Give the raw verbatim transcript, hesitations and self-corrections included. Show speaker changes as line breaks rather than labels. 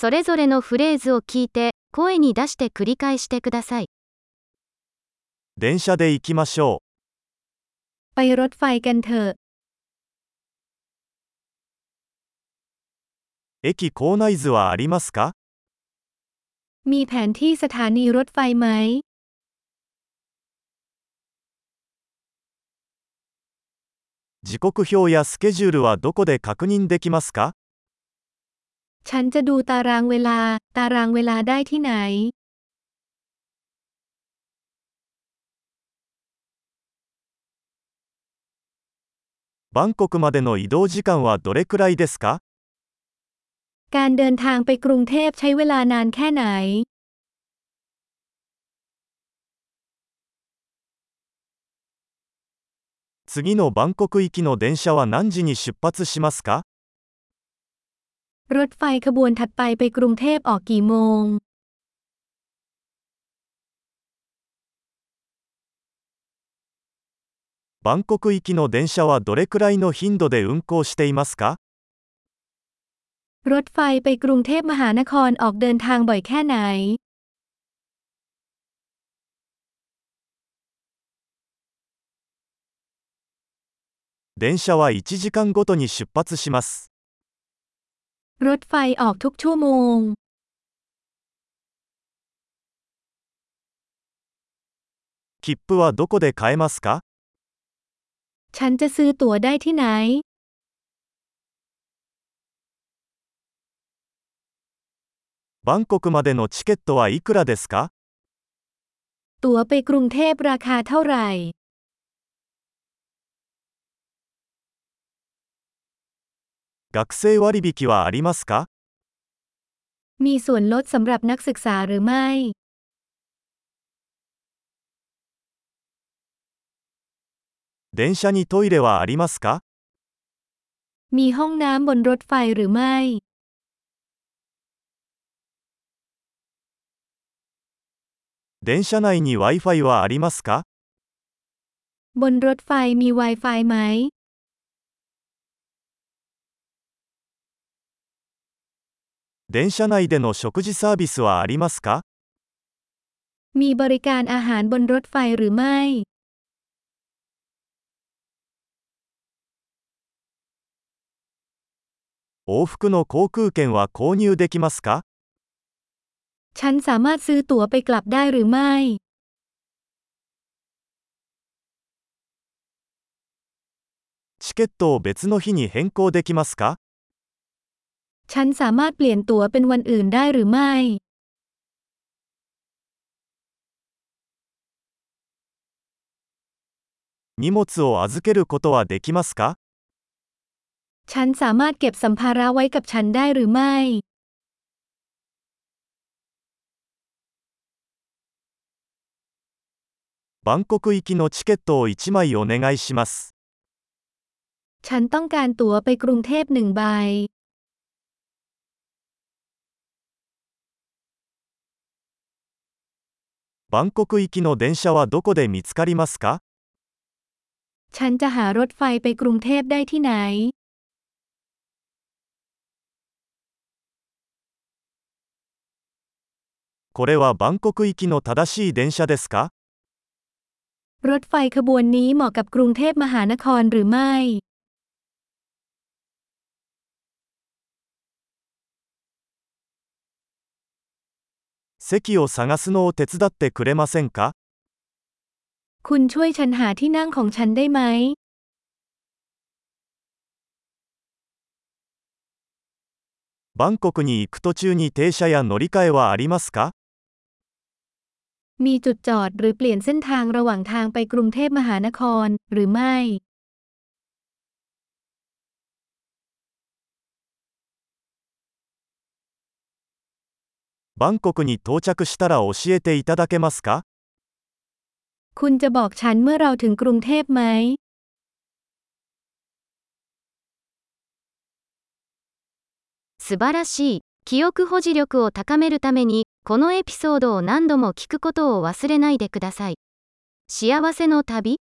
それぞれのフレーズを聞いて、声に出して繰り返してください。
電車で行きましょ
ไปรถไฟกันเถอะ
う。駅構内図はありますか？
มีแผนที่สถานีรถไฟไหม
時刻表やスケジュールはどこで確認できますか？
ฉันจะดูตารางเวลา ตารางเวลาได้ที่ไหน
バンコクまでの移動時間はどれくらいですか？
การเดินทางไปกรุงเทพใช้เวลานานแค่ไหน
次のバンコク行きの電車は何時に出発しますか？
รถไฟขบวนถัดไปไปกรุงเทพออกกี่โมง
バンコク行きの電車はどれくらいの頻度で運行していますか？
รถไฟไปกรุงเทพมหานครออกเดินทางบ่อยแค่ไหน
電車はいちじかんごとに出発します。
รถไฟออกทุกชั่วโมง
切符はどこで買えますか？
ฉันจะซื้อตั๋วได้ที่ไหน
バンコクまでのチケットはいくらですか？
ตั๋วไปกรุงเทพราคาเท่าไหร่
学生割引はありますか？
มีส่วนลดสำหรับนักศึกษาหรือไม่
電車にトイレはありますか？
มีห้องน้ำบนรถไฟหรือไม่
電車内に Wi-Fi はありますか？
บนรถไฟมี Wi-Fi ไหม
電車内での食事サービスはありますか？
มีบริการอาหารบนรถไฟหรือไม่
往復の航空券は購入できますか？
ฉันสามารถซื้อตั๋วไปกลับได้หรือไม่
チケットを別の日に変更できますか？
ฉันสามารถเปลี่ยนตั๋วเป็นวันอื่นได้หรือไม่
荷物を預けることはできますか？
ฉันสามารถเก็บสัมภาระไว้กับฉันได้หรือไม่
バンコク行きのチケットをいちまいお願いします。
ฉันต้องการตั๋วไปกรุงเทพหนึ่งใบ
バンコク行きの電車はどこで見つかりますか？
ฉันจะหารถไฟไปกรุงเทพได้ที่ไหน
これはバンコク行きの正しい電車ですか？
รถไฟขบวนนี้เหมาะกับกรุงเทพมหานครหรือไม่
席を探すのを手伝ってくれませんか？
คุณช่วยฉันหาที่นั่งของฉันได้ไหม
バンコクに行く途中に停車や乗り換えはありますか？
มีจุดจอดหรือเปลี่ยนเส้นทางระหว่างทางไปกรุงเทพมหานครหรือไม่
バンコクに到着したら教えていただけますか？
คุณจะบอกฉันเมื่อเราถึงกรุงเทพไหม
素晴らしい。記憶保持力を高めるために、このエピソードを何度も聞くことを忘れないでください。幸せの旅